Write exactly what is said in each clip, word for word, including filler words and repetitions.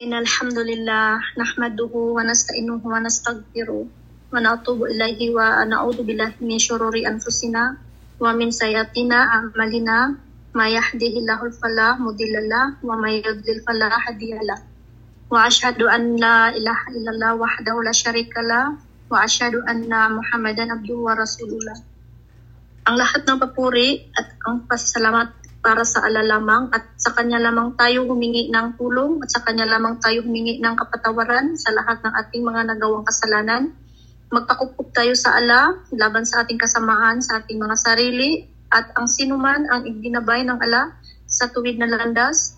إن الحمد لله نحمده ونستعينه ونستغفره ونتوب إليه ونعوذ بالله من شرور أنفسنا ومن سيئات أعمالنا ما يهده الله فلا مضل له وما يضلل فلا هادي له وأشهد أن لا إله إلا الله وحده لا شريك له وأشهد أن محمدا عبده ورسوله. Ang lahat ng papuri at ang pasalamat para sa Allah lamang at sa Kanya lamang tayo humingi ng tulong at sa Kanya lamang tayo humingi ng kapatawaran sa lahat ng ating mga nagawang kasalanan. Magpakupkup tayo sa Allah laban sa ating kasamaan, sa ating mga sarili at ang sinuman ang iginabay ng Allah sa tuwid na landas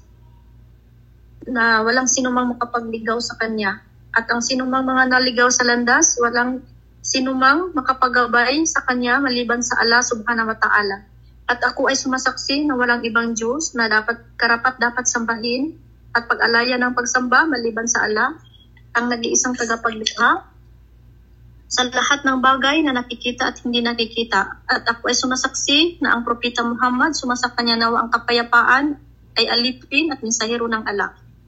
na walang sinumang makapagligaw sa Kanya. At ang sinumang mga naligaw sa landas, walang sinumang makapagabay sa Kanya maliban sa Allah subhanahu wa ta'ala. At ako ay sumasaksi na walang ibang Diyos na dapat karapat dapat sambahin at pag-alaya ng pagsamba maliban sa Allah, ang nag-iisang tagapaglikha sa lahat ng bagay na nakikita at hindi nakikita. At ako ay sumasaksi na ang Propeta Muhammad, sumasakanya nawa ang kapayapaan, ay alipin at mensahero ng Allah.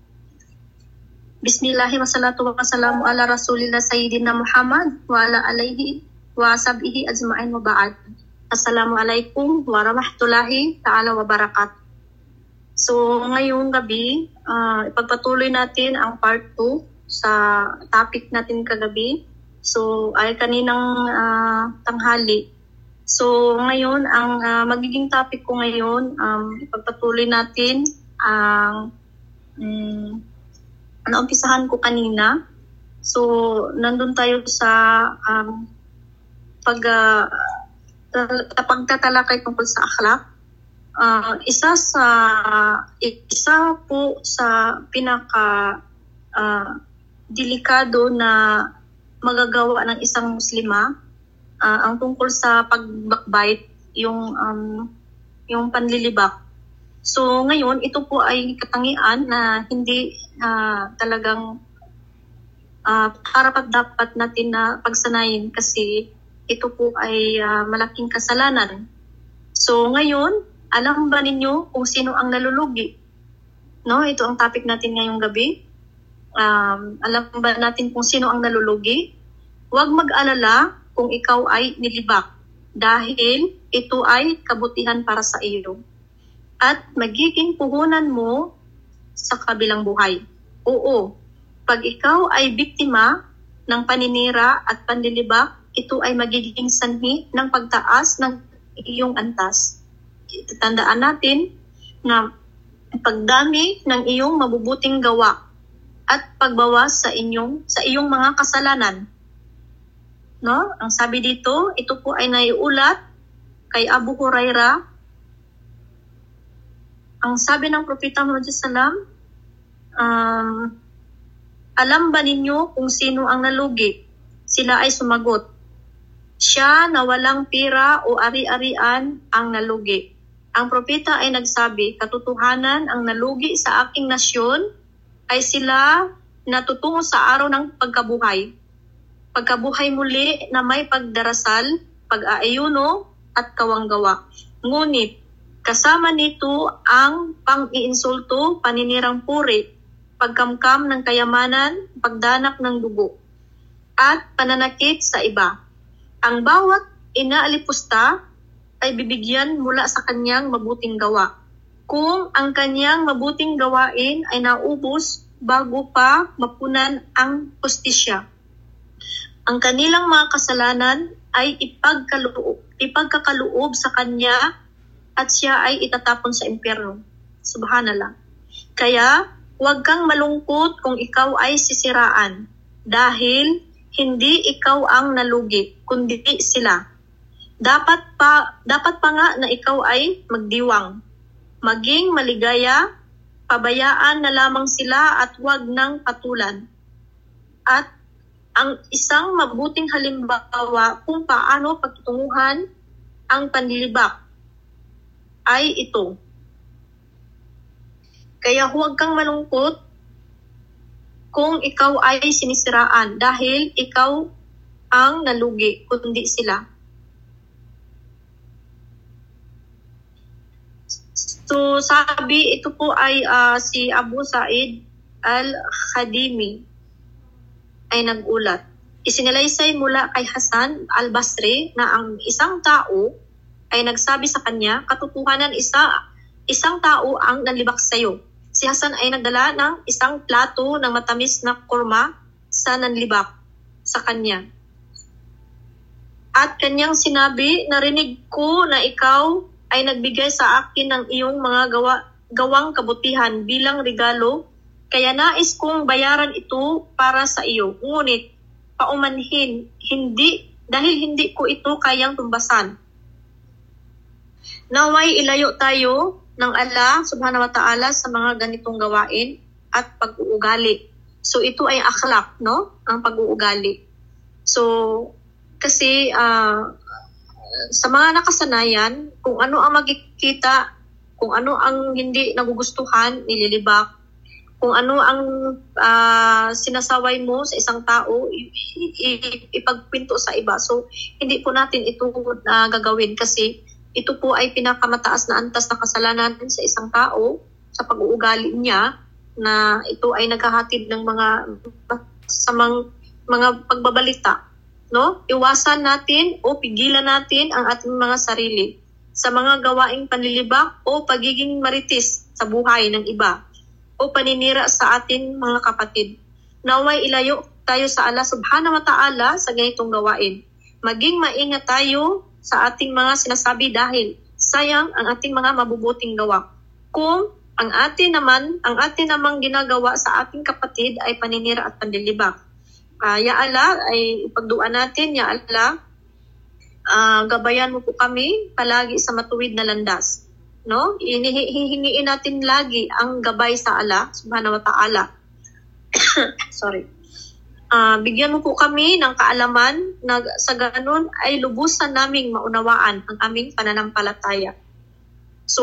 Bismillahi wa salatu wa salamu ala rasulillah sayyidina Muhammad wa ala alaihi wa ashabihi ajma'in wa ba'd. Assalamualaikum warahmatullahi ta'ala wabarakatuh. So ngayong gabi, uh, ipagpatuloy natin ang part two sa topic natin kagabi. So ay kaninang uh, tanghali. So ngayon, ang uh, magiging topic ko ngayon, um, ipagpatuloy natin ang um, naumpisahan ko kanina. So nandun tayo sa um, pag... Uh, pagtatalakay tungkol sa akhlak, uh, isa sa isa po sa pinaka uh, delikado na magagawa ng isang muslima, uh, ang tungkol sa pagbakbite, yung um, yung panlilibak. So ngayon ito po ay katangian na hindi uh, talagang uh, karapat dapat natin na pagsanayin kasi ito po ay uh, malaking kasalanan. So ngayon, alam ba ninyo kung sino ang nalulugi? No, ito ang topic natin ngayong gabi. Um, alam ba natin kung sino ang nalulugi? Huwag mag-alala kung ikaw ay nilibak dahil ito ay kabutihan para sa iyo. At magiging puhunan mo sa kabilang buhay. Oo, pag ikaw ay biktima ng paninira at panlilibak, ito ay magiging sanhi ng pagtaas ng iyong antas. Tandaan natin na pagdami ng iyong mabubuting gawa at pagbawas sa inyong sa iyong mga kasalanan. No? Ang sabi dito, ito po ay naiulat kay Abu Hurairah. Ang sabi ng Propeta Muhammad sallallahu alaihi wasallam, um, alam ba ninyo kung sino ang nalugi? Sila ay sumagot, siya na walang pira o ari-arian ang nalugi. Ang propeta ay nagsabi, katotohanan ang nalugi sa aking nasyon ay sila na tutungo sa araw ng pagkabuhay. Pagkabuhay muli na may pagdarasal, pag-aayuno at kawanggawa. Ngunit kasama nito ang pang-iinsulto, paninirang puri, pagkamkam ng kayamanan, pagdanak ng dugo, at pananakit sa iba. Ang bawat inaalipusta ay bibigyan mula sa kanyang mabuting gawa. Kung ang kanyang mabuting gawain ay naubos bago pa mapunan ang hustisya, ang kanilang mga kasalanan ay ipagkaloob, ipagkakaloob sa kanya at siya ay itatapon sa impyerno. Subhanallah. Kaya huwag kang malungkot kung ikaw ay sisiraan dahil hindi ikaw ang nalugi, kundi sila. Dapat pa, dapat pa nga na ikaw ay magdiwang. Maging maligaya, pabayaan na lamang sila at huwag nang patulan. At ang isang mabuting halimbawa kung paano pagtutunguhan ang panlilibak ay ito. Kaya huwag kang malungkot kung ikaw ay sinisiraan dahil ikaw ang nalugi, kundi sila. So sabi, ito po ay uh, si Abu Sa'id al-Khadimi ay nagulat. Isinalaysay mula kay Hasan al-Basri na ang isang tao ay nagsabi sa kanya, katotohanan isa, isang tao ang nanlibak sa iyo. Si Hasan ay nagdala ng isang plato ng matamis na kurma sa nanlibak sa kanya. At kanyang sinabi, narinig ko na ikaw ay nagbigay sa akin ng iyong mga gawa, gawang kabutihan bilang regalo, kaya nais kong bayaran ito para sa iyo. Ngunit, paumanhin, hindi, dahil hindi ko ito kayang tumbasan. Naway ilayo tayo ng Allah subhanahu wa ta'ala sa mga ganitong gawain at pag-uugali. So ito ay akhlak, no? Ang pag-uugali. So, kasi uh, sa mga nakasanayan, kung ano ang magkikita, kung ano ang hindi nagugustuhan, nililibak, kung ano ang uh, sinasaway mo sa isang tao, ipagpinto sa iba. So, hindi po natin ito uh, gagawin kasi ito po ay pinakamataas na antas na kasalanan sa isang tao sa pag-uugali niya na ito ay naghahatid ng mga samang mga pagbabalita. No? Iwasan natin o pigilan natin ang ating mga sarili sa mga gawaing panlilibak o pagiging maritis sa buhay ng iba o paninira sa ating mga kapatid. Naway ilayo tayo sa Allah subhanahu wa ta'ala sa ganitong gawain. Maging maingat tayo sa ating mga sinasabi dahil sayang ang ating mga mabubuting gawa. Kung ang atin naman, ang atin namang ginagawa sa ating kapatid ay paninira at panlilibak. Uh, ya Allah, ay ipagduan natin, Ya Allah, uh, gabayan mo po kami palagi sa matuwid na landas. No? Hihingiin natin lagi ang gabay sa Allah subhanahu wa ta'ala. Sorry. Uh, bigyan mo po kami ng kaalaman na sa ganun ay lubusan naming maunawaan ang aming pananampalataya. So,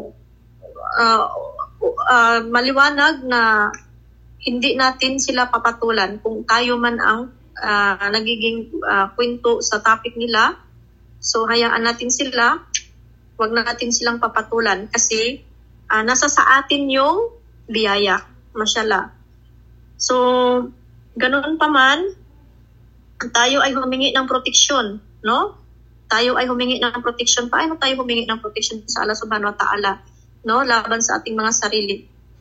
uh, uh, maliwanag na hindi natin sila papatulan kung tayo man ang uh, nagiging uh, kwento sa topic nila. So, hayaan natin sila. Huwag na natin silang papatulan kasi uh, nasa sa atin yung biyaya. Mashallah. So, ganoon pa man, tayo ay humingi ng proteksyon, no? Tayo ay humingi ng proteksyon. Paano tayo humingi ng proteksyon sa Allah subhanahu wa ta'ala, no? Laban sa ating mga sarili.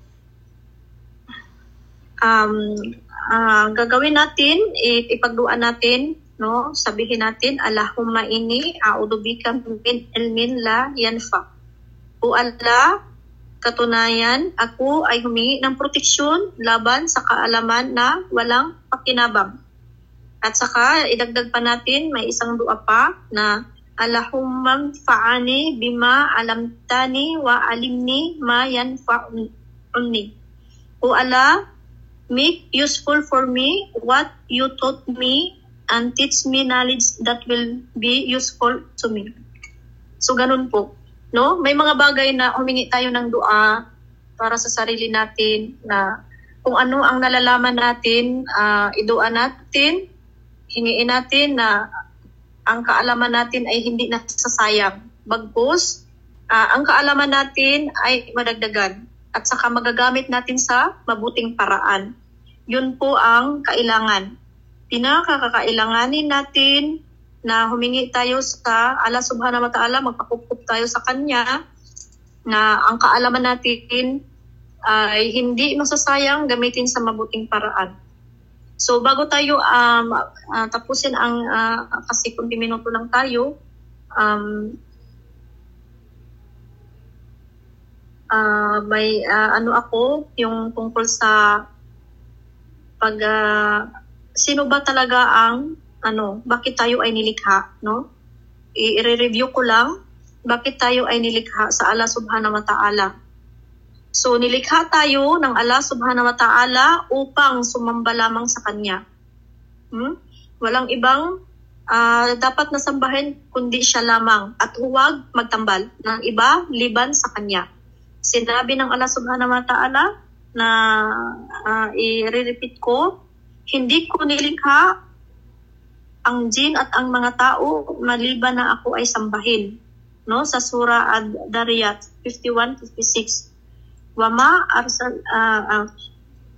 Um, uh, gagawin natin, ipagduan natin, no? Sabihin natin, Allahumma inni a'udhu bika min ilmin la yanfa. O Allah, katunayan, ako ay humingi ng proteksyon laban sa kaalaman na walang pakinabang. At saka, idagdag pa natin, may isang dua pa na Allahumma fa'ani bima alamtani wa alimni ma yanfa'uni. O Allah, make useful for me what you taught me and teach me knowledge that will be useful to me. So, ganun po. No, may mga bagay na humingi tayo ng dua para sa sarili natin na kung ano ang nalalaman natin, uh, idua natin, hingiin natin na ang kaalaman natin ay hindi nasasayang. Bagkus, uh, ang kaalaman natin ay madagdagan at saka magagamit natin sa mabuting paraan. Yun po ang kailangan. Pinakakailanganin natin na humingi tayo sa Allah subhanahu wa ta'ala, magpakukup tayo sa Kanya, na ang kaalaman natin ay hindi masasayang gamitin sa mabuting paraan. So bago tayo um, uh, tapusin ang, uh, kasi kung di minuto lang tayo, um, uh, may uh, ano ako, yung tungkol sa pag, uh, sino ba talaga ang ano, bakit tayo ay nilikha, no? I-review ko lang, bakit tayo ay nilikha sa Allah subhanahu wa ta'ala. So, nilikha tayo ng Allah subhanahu wa ta'ala upang sumamba lamang sa Kanya. Hmm? Walang ibang uh, dapat nasambahin kundi siya lamang at huwag magtambal ng iba liban sa Kanya. Sinabi ng Allah subhanahu wa ta'ala na uh, i-repeat ko, hindi ko nilikha ang jin at ang mga tao maliban na ako ay sambahin, no, sa surah Ad-Dariyat fifty-one fifty-six. Wama arsal uh, uh,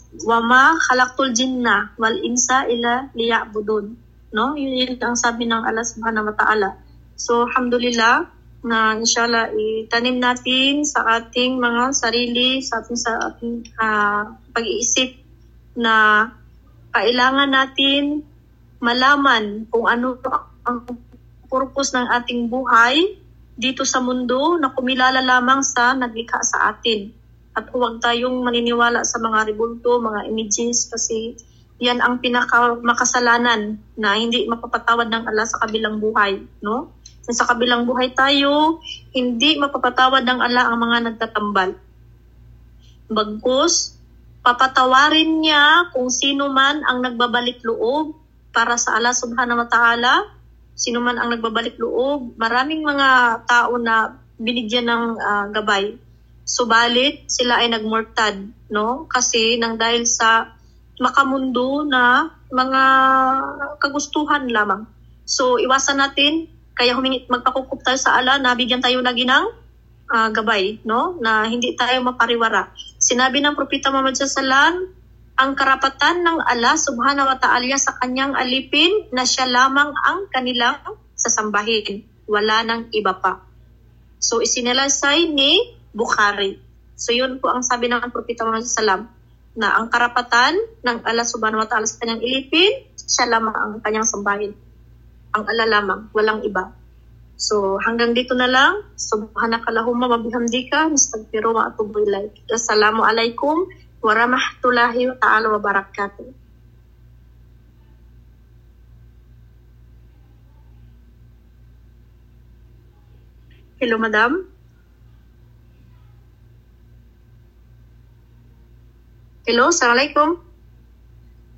wama khalaqtul jinna wal insa illa liya'budun, no? Yun, yun ang sabi ng Allah subhanahu wa ta'ala. So alhamdulillah na inshallah itanim natin sa ating mga sarili, sa ating sa ating uh, pag-iisip na kailangan natin malaman kung ano ang purpose ng ating buhay dito sa mundo, na kumilala lamang sa naglikha sa atin. At huwag tayong maniniwala sa mga rebulto, mga images, kasi yan ang pinaka makasalanan na hindi mapapatawad ng Allah sa kabilang buhay, no? Sa kabilang buhay tayo, hindi mapapatawad ng Allah ang mga nagtatambal. Bagkus, papatawarin niya kung sino man ang nagbabalik loob para sa Allah subhanahu wa ta'ala. Sino man ang nagbabalik loob, maraming mga tao na binigyan ng uh, gabay. Subalit, sila ay nagmurtad, no? Kasi nang dahil sa makamundo na mga kagustuhan lamang. So, iwasan natin, kaya humingi, magpakukup tayo sa Allah na bigyan tayo lagi ng uh, gabay, no? Na hindi tayo mapariwara. Sinabi ng Propeta Muhammad sallallahu alaihi wasallam, ang karapatan ng Allah subhanahu wa ta'ala sa kanyang alipin na siya lamang ang kanilang sasambahin. Wala nang iba pa. So, isinilasay ni Bukhari. So, yun po ang sabi ng Propeta Muhammad sallallahu alaihi wasallam, na ang karapatan ng Allah subhanahu wa ta'ala sa kanyang ilipin, siya lamang ang kanyang sambahin. Ang Allah lamang, walang iba. So, hanggang dito na lang. Subhanakallahumma wa bihamdika, nastaghfiruka wa atubu ilaik. Assalamualaikum warahmatullahi ta'ala wabarakatuh. Hello, madam. Hello, assalamualaikum.